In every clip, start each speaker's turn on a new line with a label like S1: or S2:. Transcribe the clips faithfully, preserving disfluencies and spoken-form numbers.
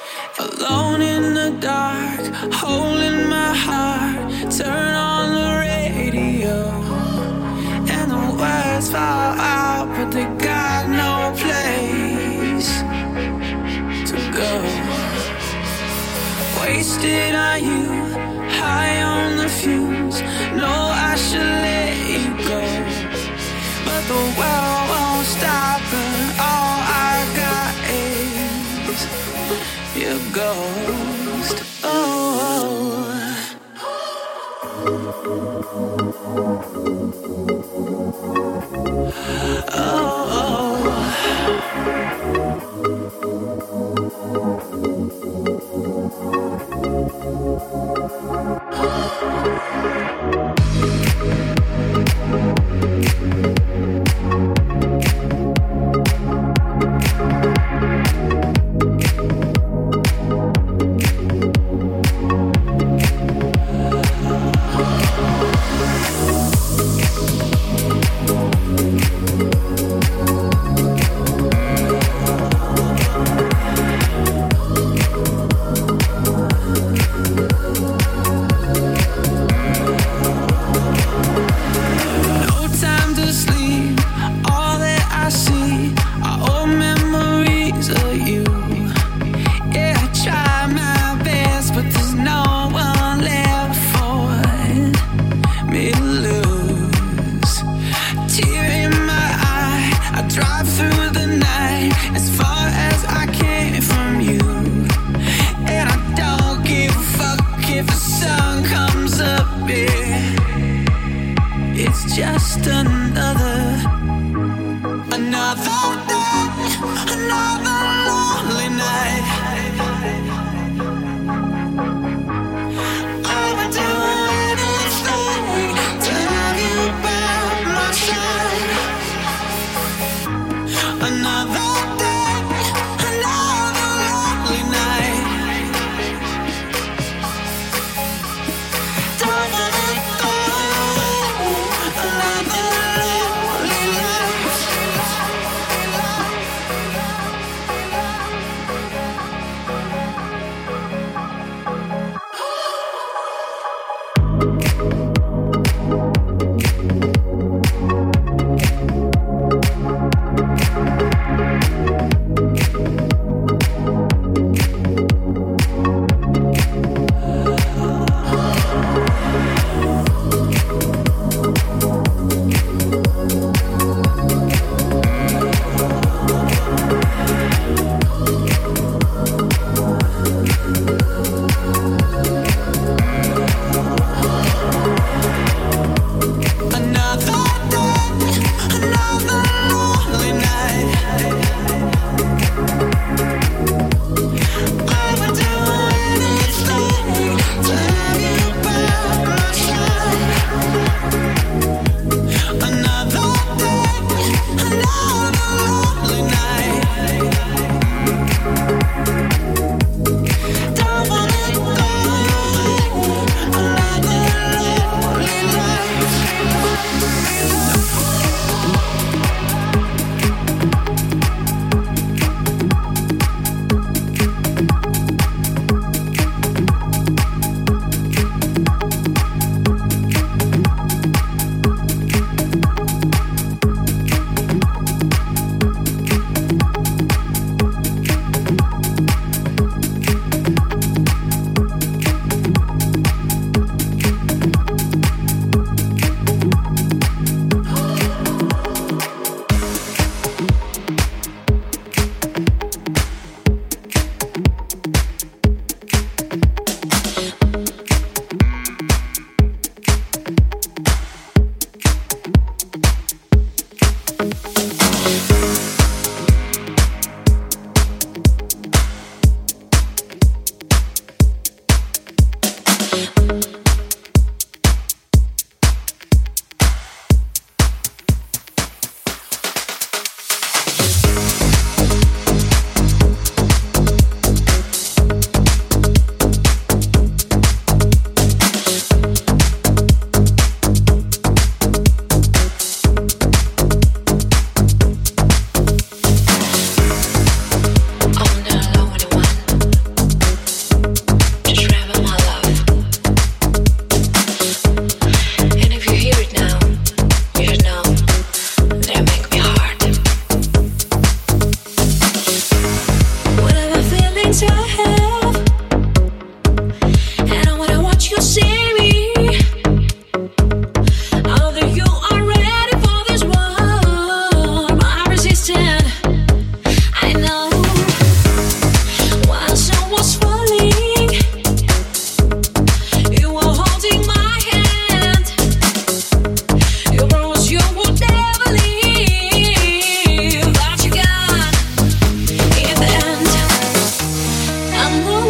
S1: Alone in the dark, holding my heart. Turn on the radio, and the words fall out, but they got no place to go. Wasted on you, high on the fumes. No, I should let you go, but the world won't stop, and all I got is your ghost. Oh, oh, just another, another day, another lonely night. I would do anything to have you by my side. Another day, another lonely night. Don't let it go.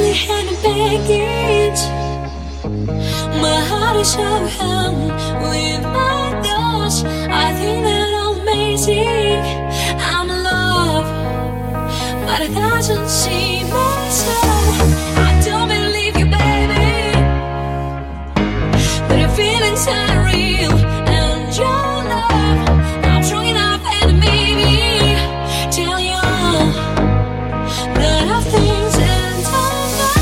S2: had no baggage. My heart is overwhelmed with my thoughts. I think that I'm amazing. I'm in love, but it doesn't seem so. I don't believe you, baby, but the feelings are real, and your love, I'm strong enough and maybe tell you all that I think and don't know.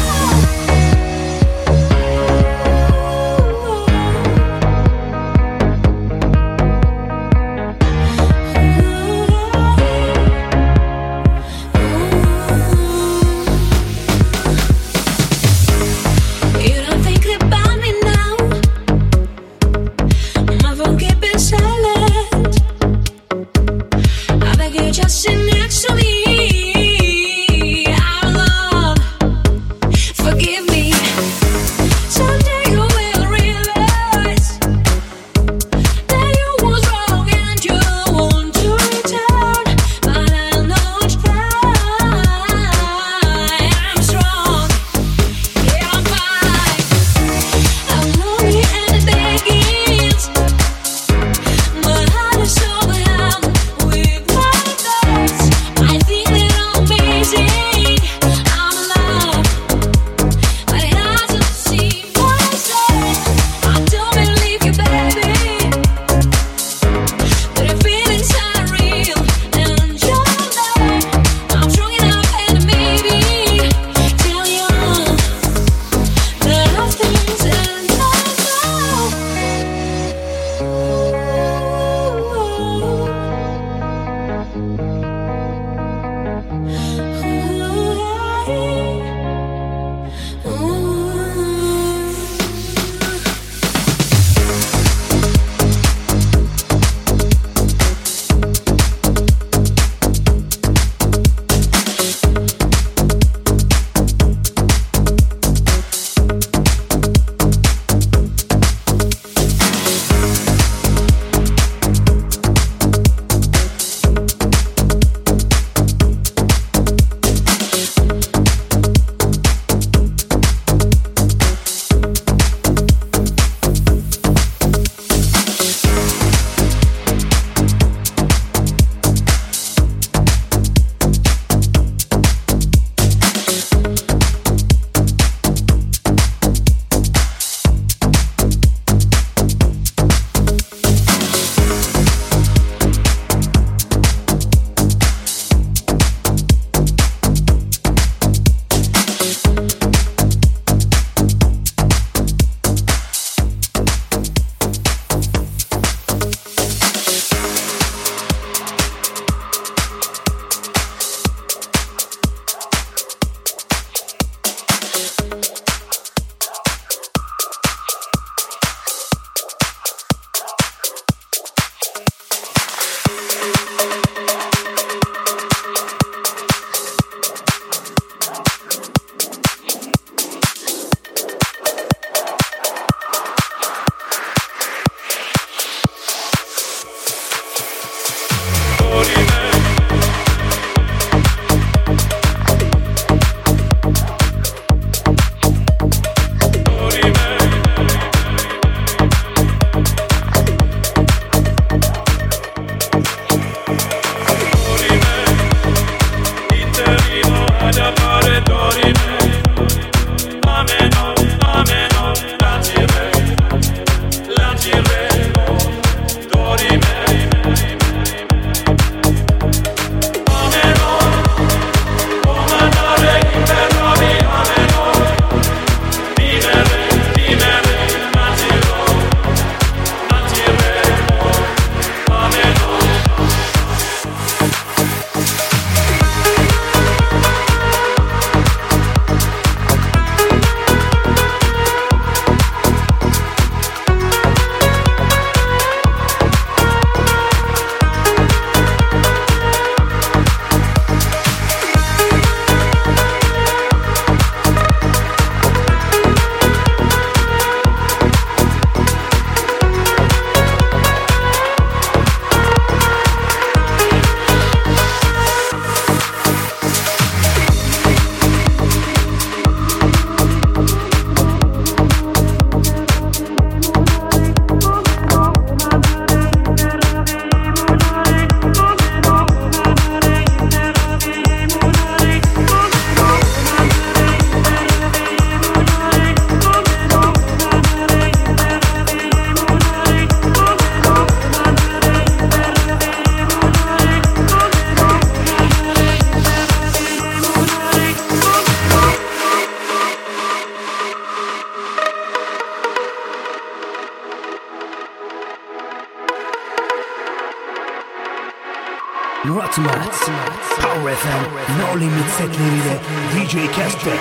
S3: Ultimate Power F M No Limit setleriyle D J Casper.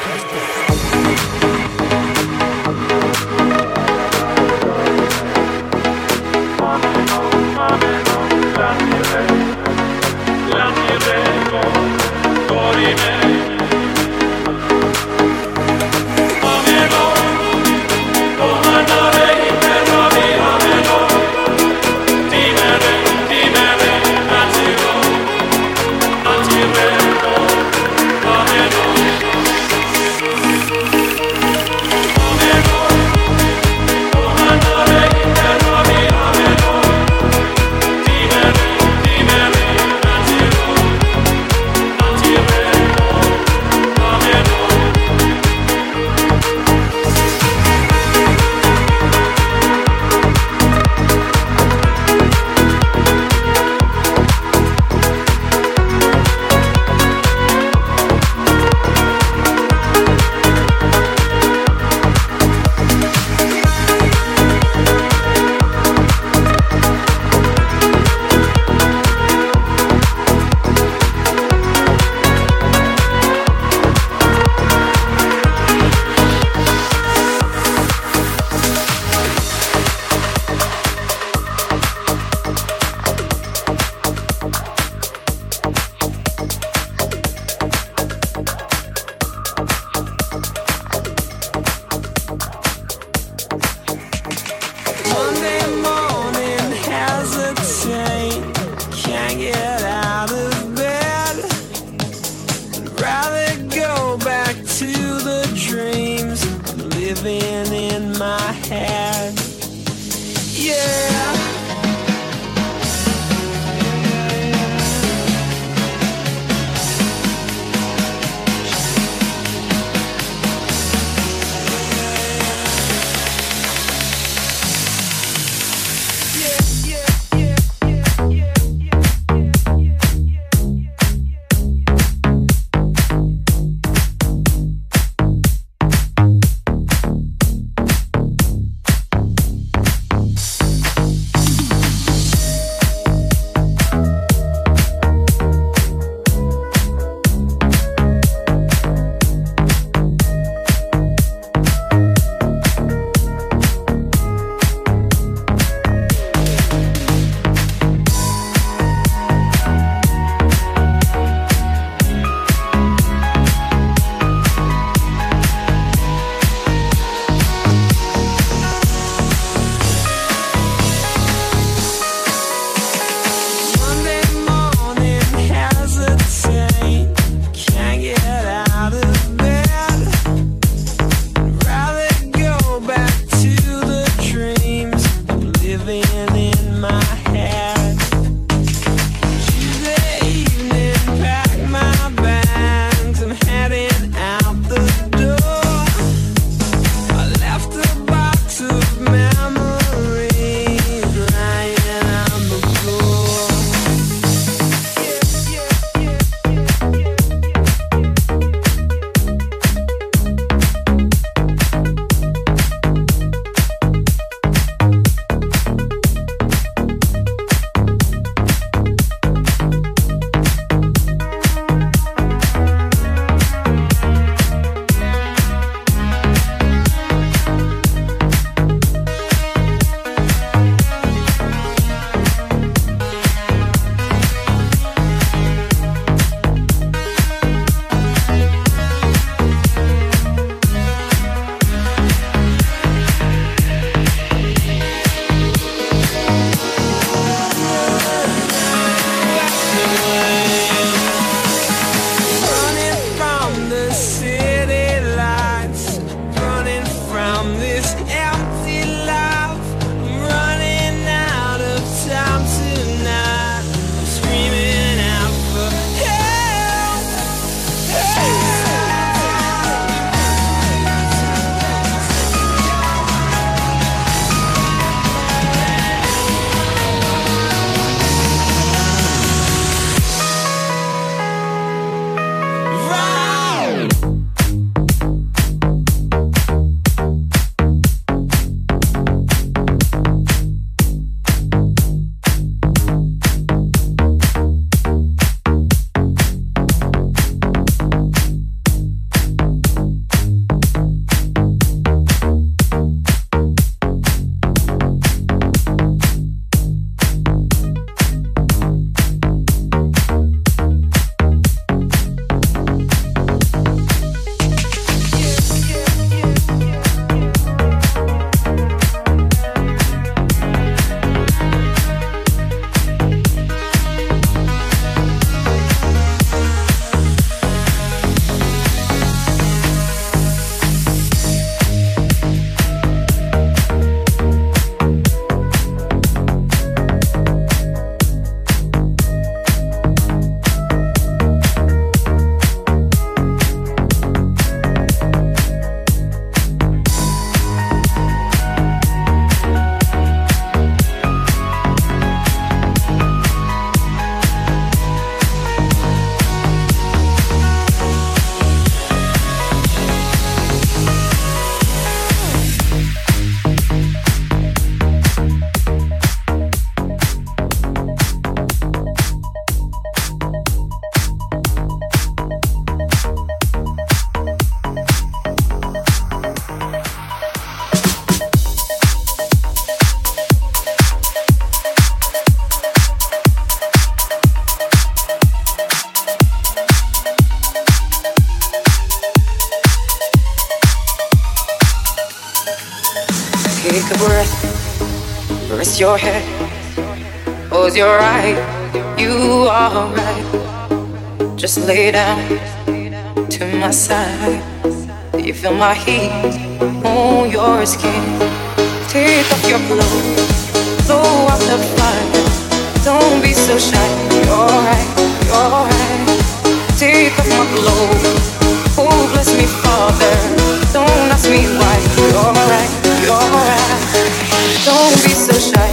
S4: Take a breath, rest your head, close your eyes, you are right. Just lay down to my side. Do you feel my heat on your skin? Take off your clothes, blow out the fire. Don't be so shy, you're right, you're right. Take off my clothes, oh bless me Father. Don't ask me why, you're right, you're right. Don't be so shy.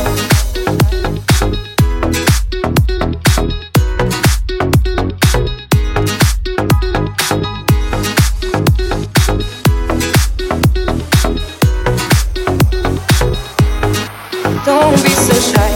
S4: Don't be so shy.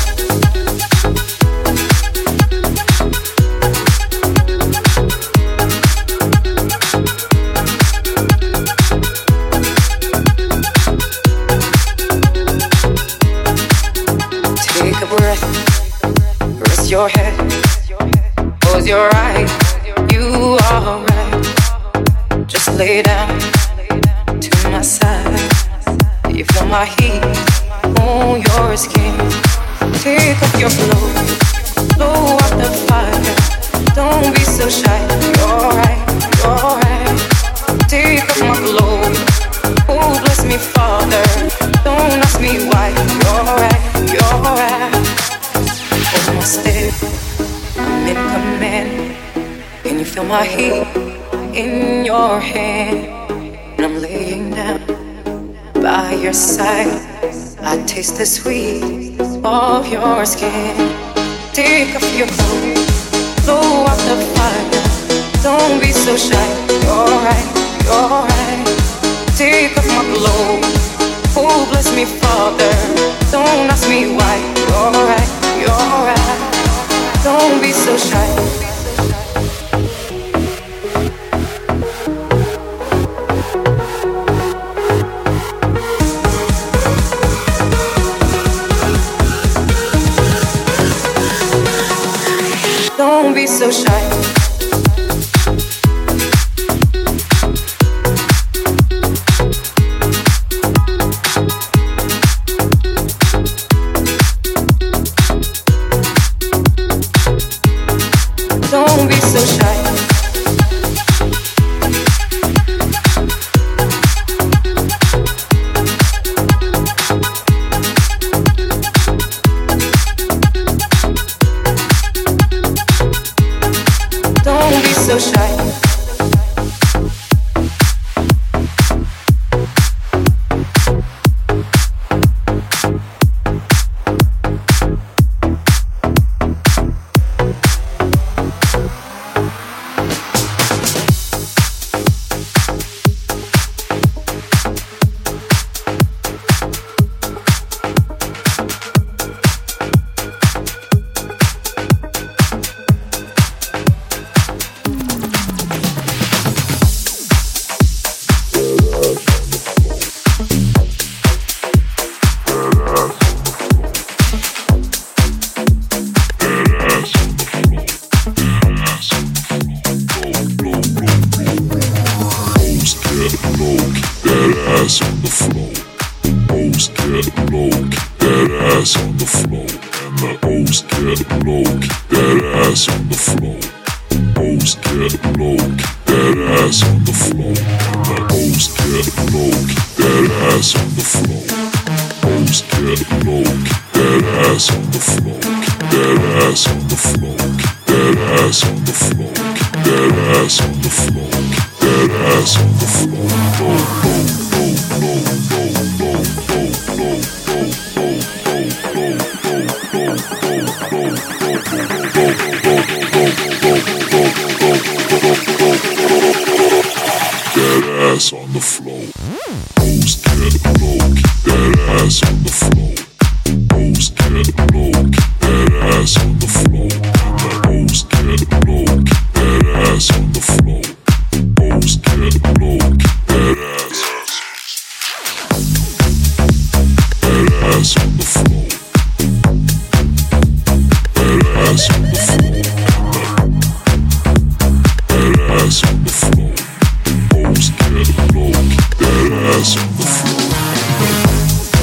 S4: Take a breath, rest your head, close your eyes, you are right. Just lay down to my side. Do you feel my heat on your skin? Take off your clothes, blow out the fire. Don't be so shy, you're right, you're right. Take off my clothes, oh bless me Father. Don't ask me why, you're right, you're right. Hold my step, I'm in command. Can you feel my heat in your hand? And I'm laying down by your side. I taste the sweet of your skin. Take off your clothes, blow out the fire. Don't be so shy, you're right, you're right. Take off my clothes, oh bless me Father. Don't ask me why, you're right, you're right. Don't be so shy. Don't be so shy. Don't be so shy. Don't be so shy.
S5: That ass on the floor.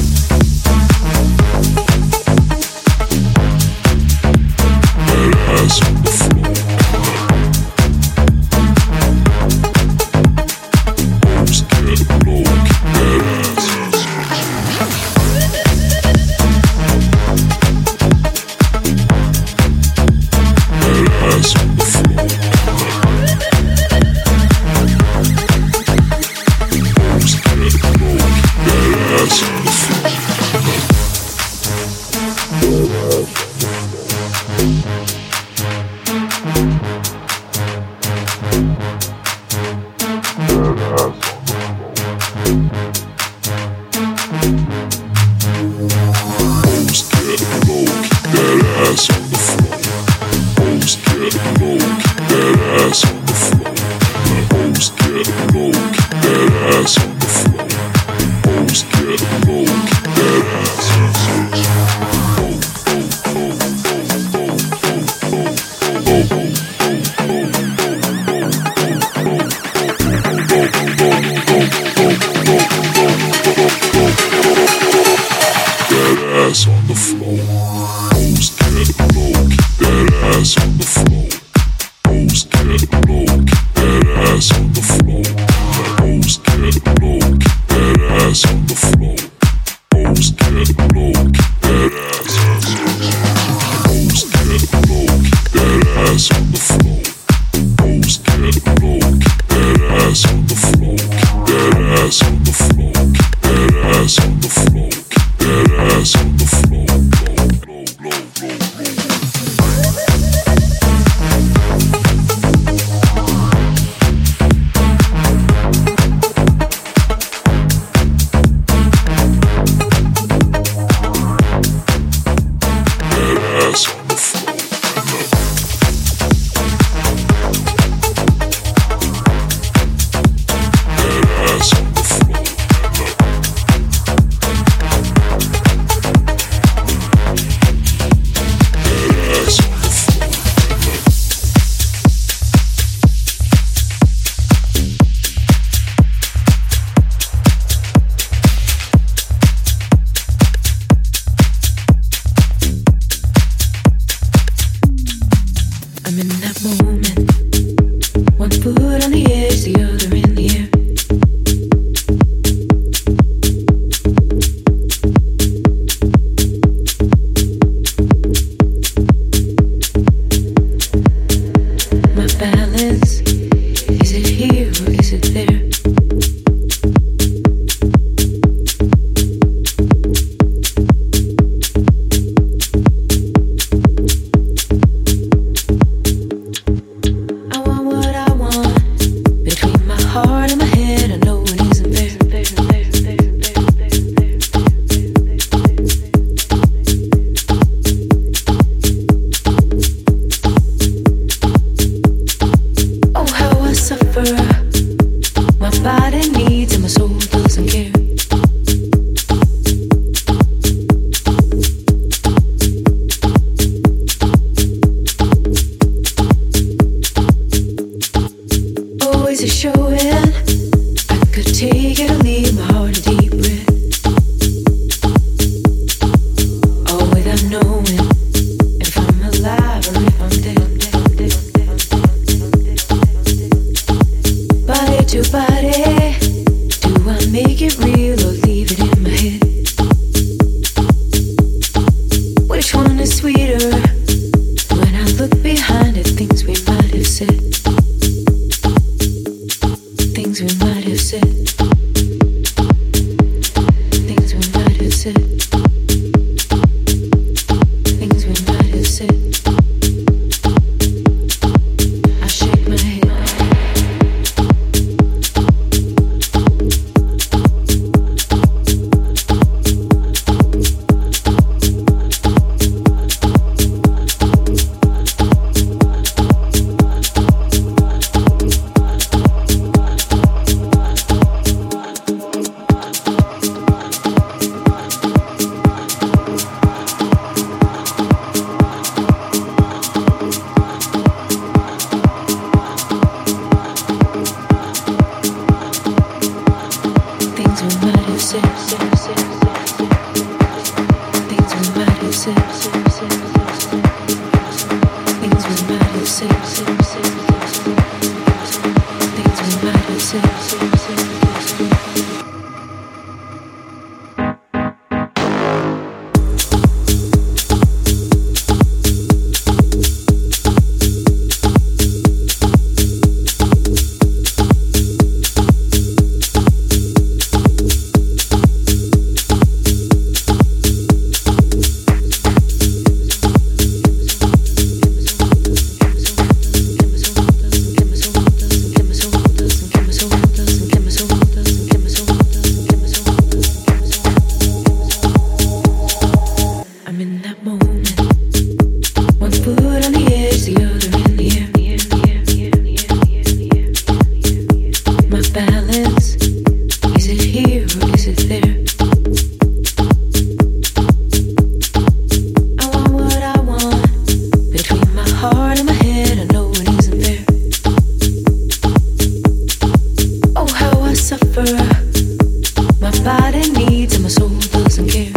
S5: suffer. My body needs and my soul doesn't care.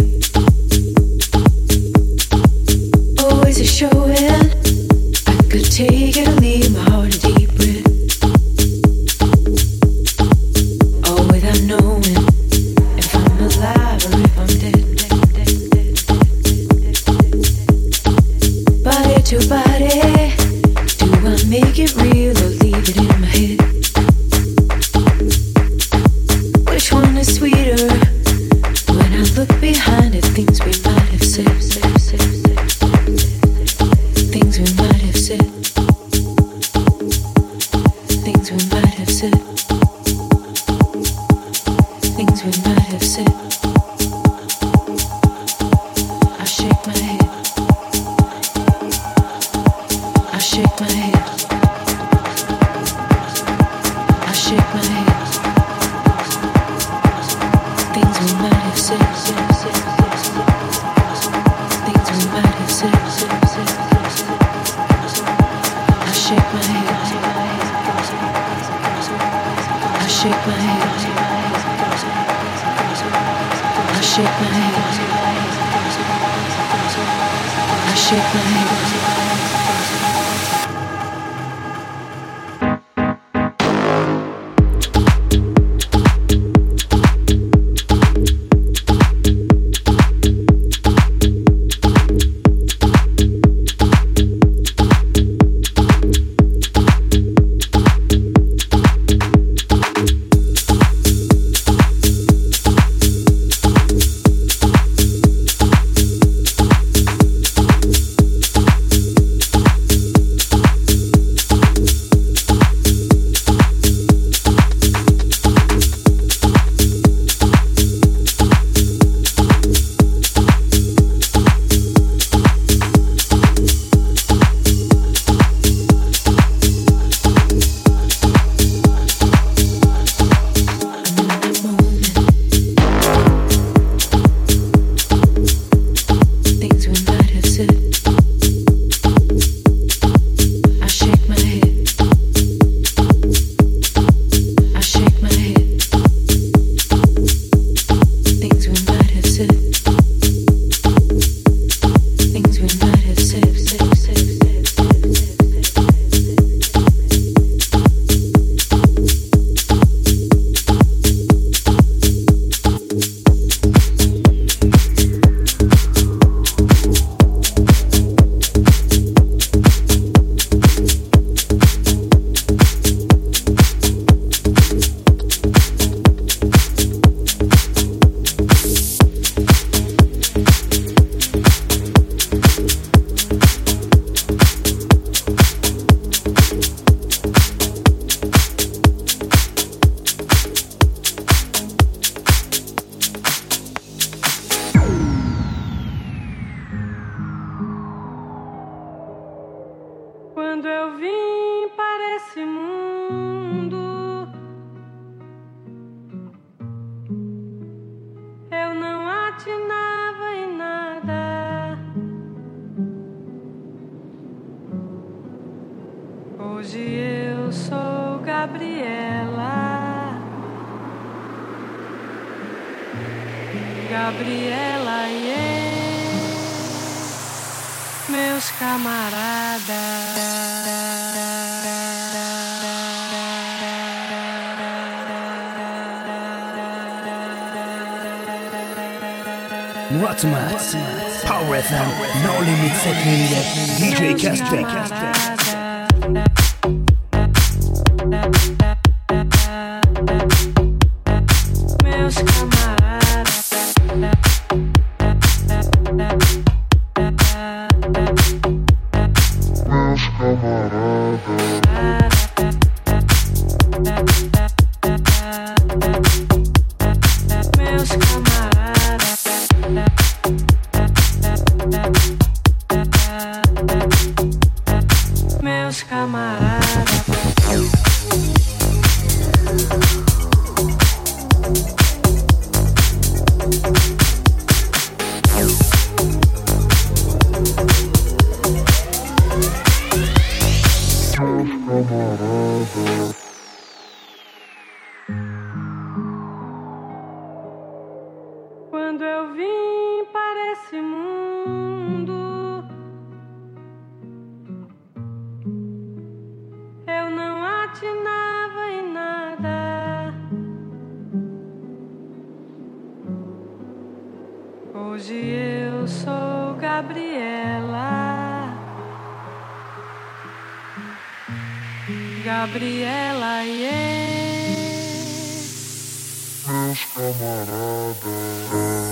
S5: Always a showing. I could take it or leave my heart a deep breath. All without knowing if I'm alive or if I'm dead. Body to body, do I make it real or leave it in my head? Which one is sweeter? When I look behind at things we might have said, said, said, said, things we might have said, things we might have said, things we might have said. I shake my head. I shake my head. I shake my head. Things we might have said, said, said, said. Things we might have said, said, said, said. I shake my head. I shake my head. I shake my head. I shake my head.
S6: Quando eu vim para esse mundo, eu não atinava em nada. Hoje eu sou Gabriela, Gabriela e eu, meus camaradas.
S3: What's Max? Power F M, No Limit Security, D J Casper.
S6: Meus camaradas, meus camaradas. desse mundo, eu não atinava em nada. Hoje eu sou Gabriela, Gabriela, yeah.
S7: Meus camaradas.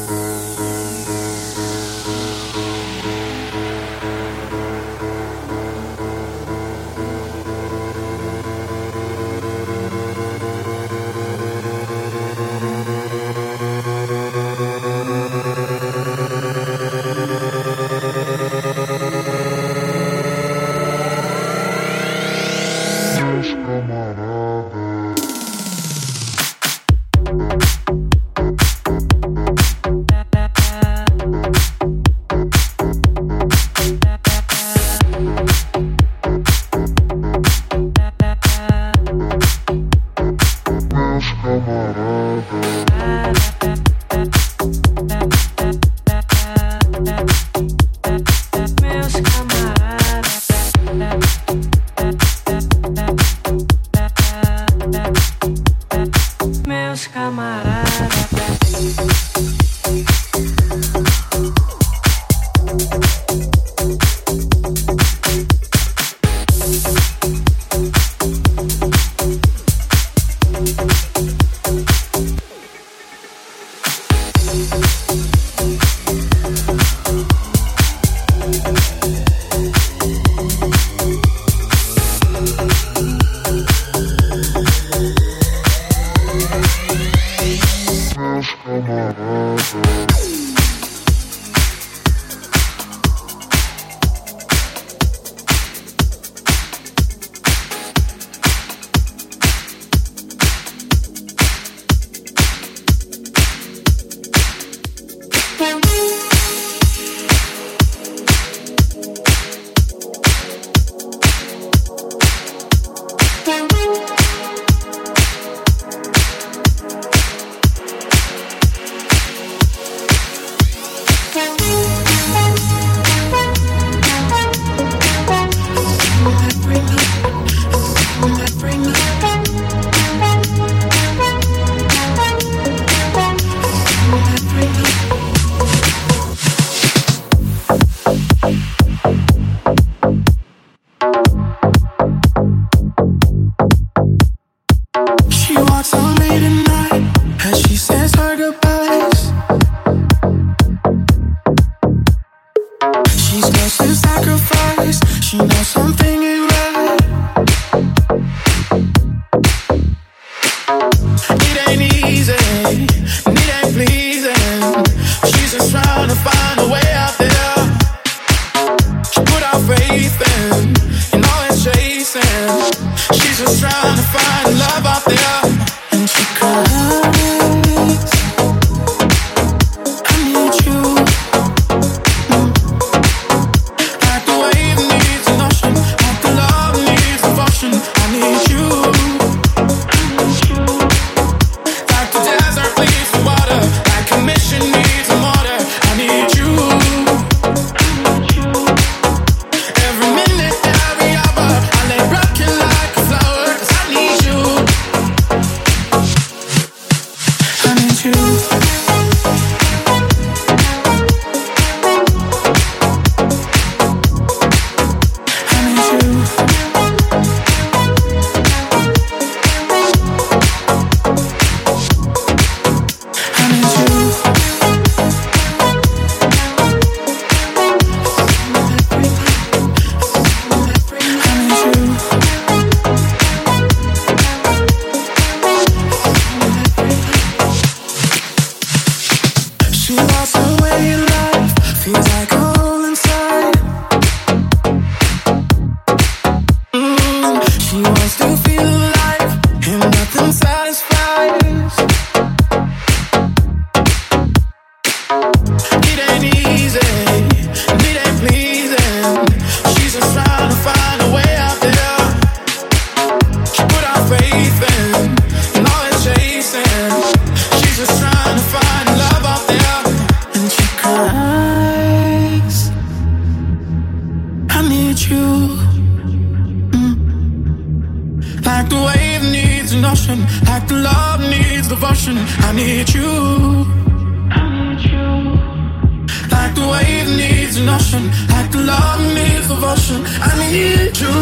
S1: I need you. I need you. Like the wave needs an ocean, like the love needs devotion. I need you.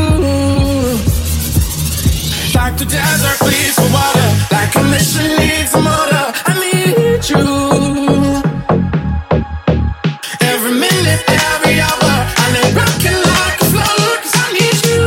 S1: Like the desert needs the water, like a mission needs a motor. I need you. Every minute, every hour, I lay rocking like a flower, 'cause I need you.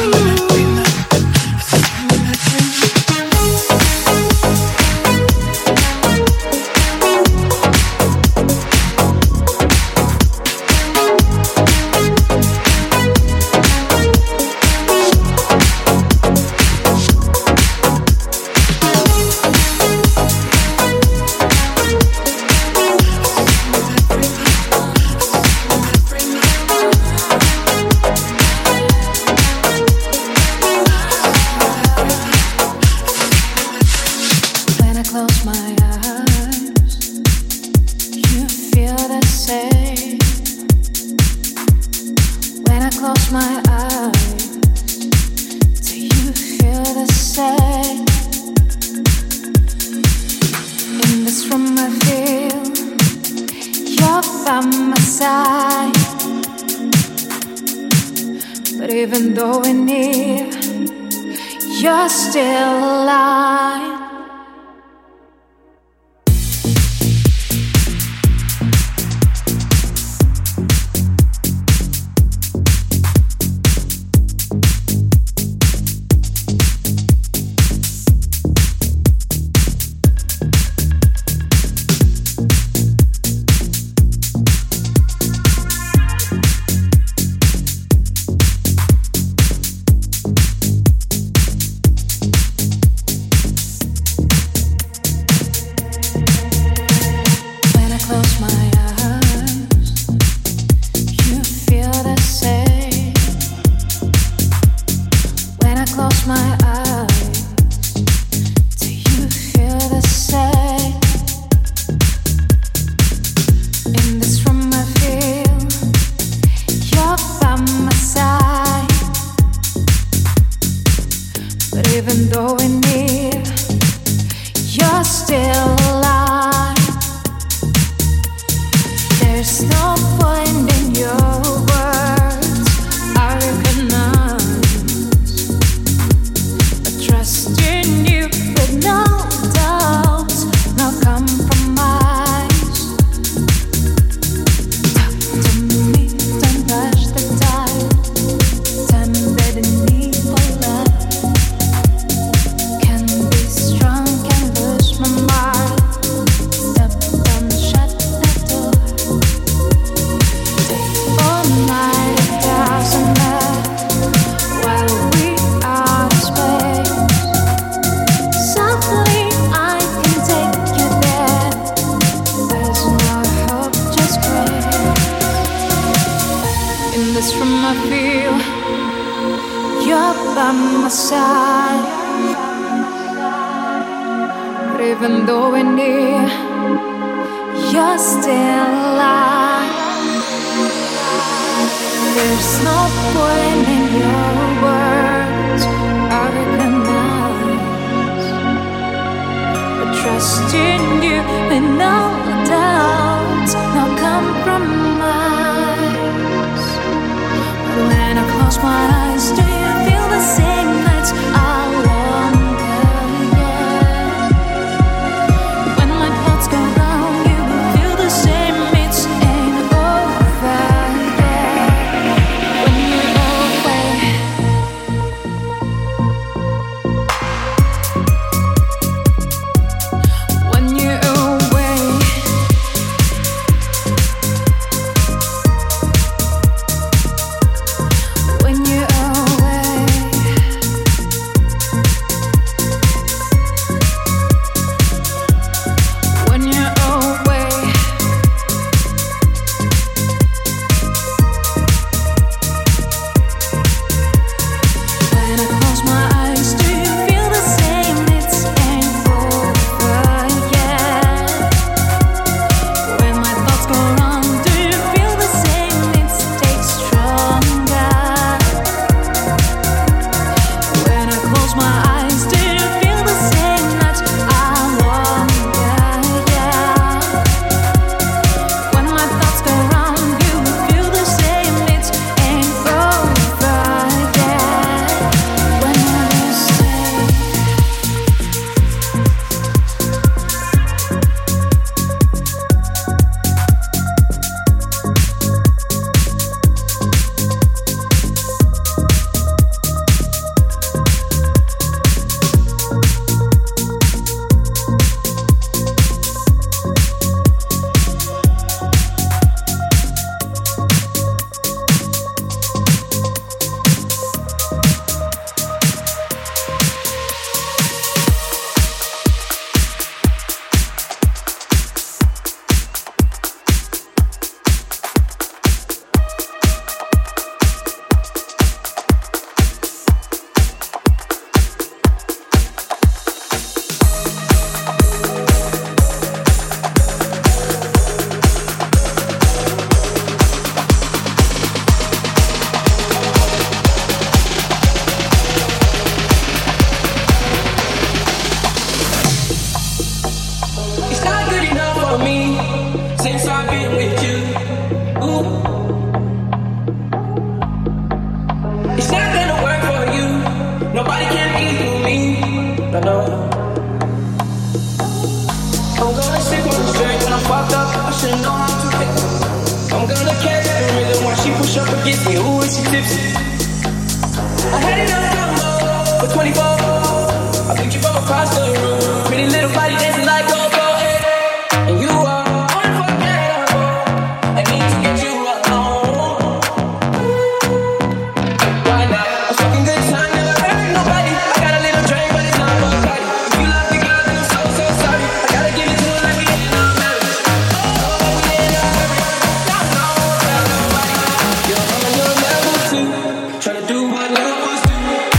S5: Even though we're near, you're still alive.
S1: I've been with you. Ooh. It's not gonna work for you. Nobody can equal me. I know. I'm gonna sip on the strength when I'm fucked up. I should know how to fix it. I'm gonna catch the rhythm while she push up against me. Ooh, is she tipsy? I had it on combo for twenty-four. I picked you from across the room. Pretty little body dancing like go go. And you are unforgettable. I need to get you alone. Why not? I'm fucking good time, never hurt nobody. I got a little drink, but it's not for party. If you love the girl, then I'm so so sorry. I gotta give it to her like we in a marriage. Oh, we in a hurry. Not no, tell nobody. You're on your level two, tryna do what lovers do.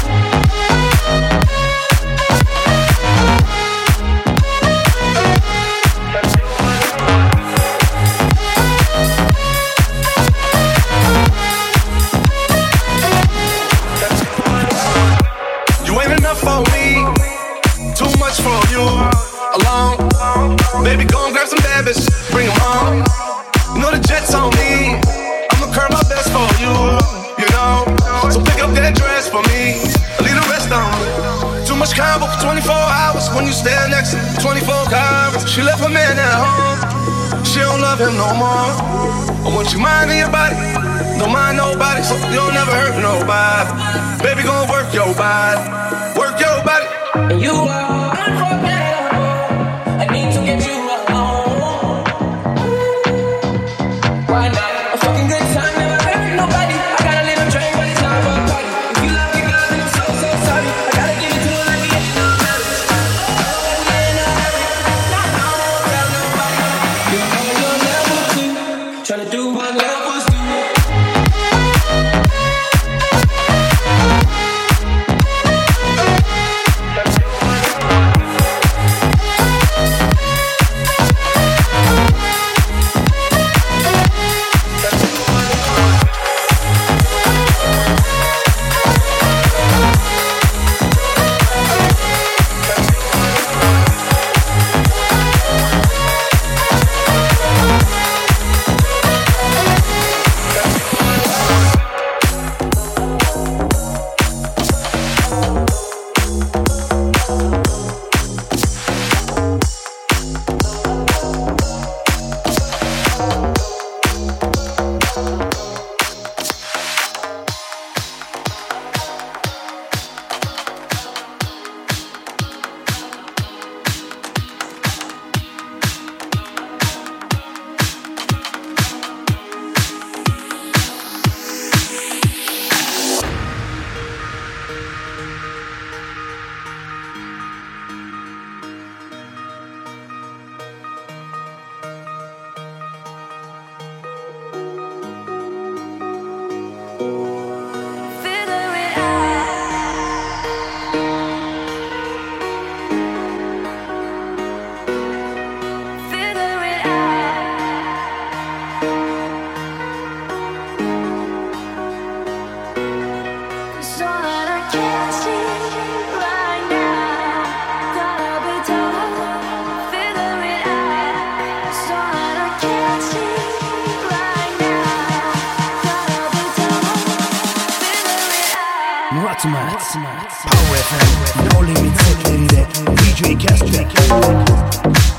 S8: For me, too much for you alone. Baby, go and grab some bad bitches, bring them home. You know the jet's on me. I'ma curl my best for you, you know. So pick up that dress for me, leave the rest on me. Too much combo for twenty-four hours when you stand next to twenty-four cars. She left her man at home, she don't love him no more. I want you minding your body, don't mind nobody, so you don't never hurt nobody. Baby, gon' work your body. Work your body.
S1: And you are unforgettable. I need to get you alone. Why not? A fucking good time, never hurt nobody. I got a little drink, but it's not for a party. If you love me, girl, then I'm so, so sorry. I gotta give it to her like we in a marriage. Oh, we in a hurry. Not no, tell nobody. You're on your level two, tryna do what lovers do.
S3: Power F M, No Limit Set D J Castro.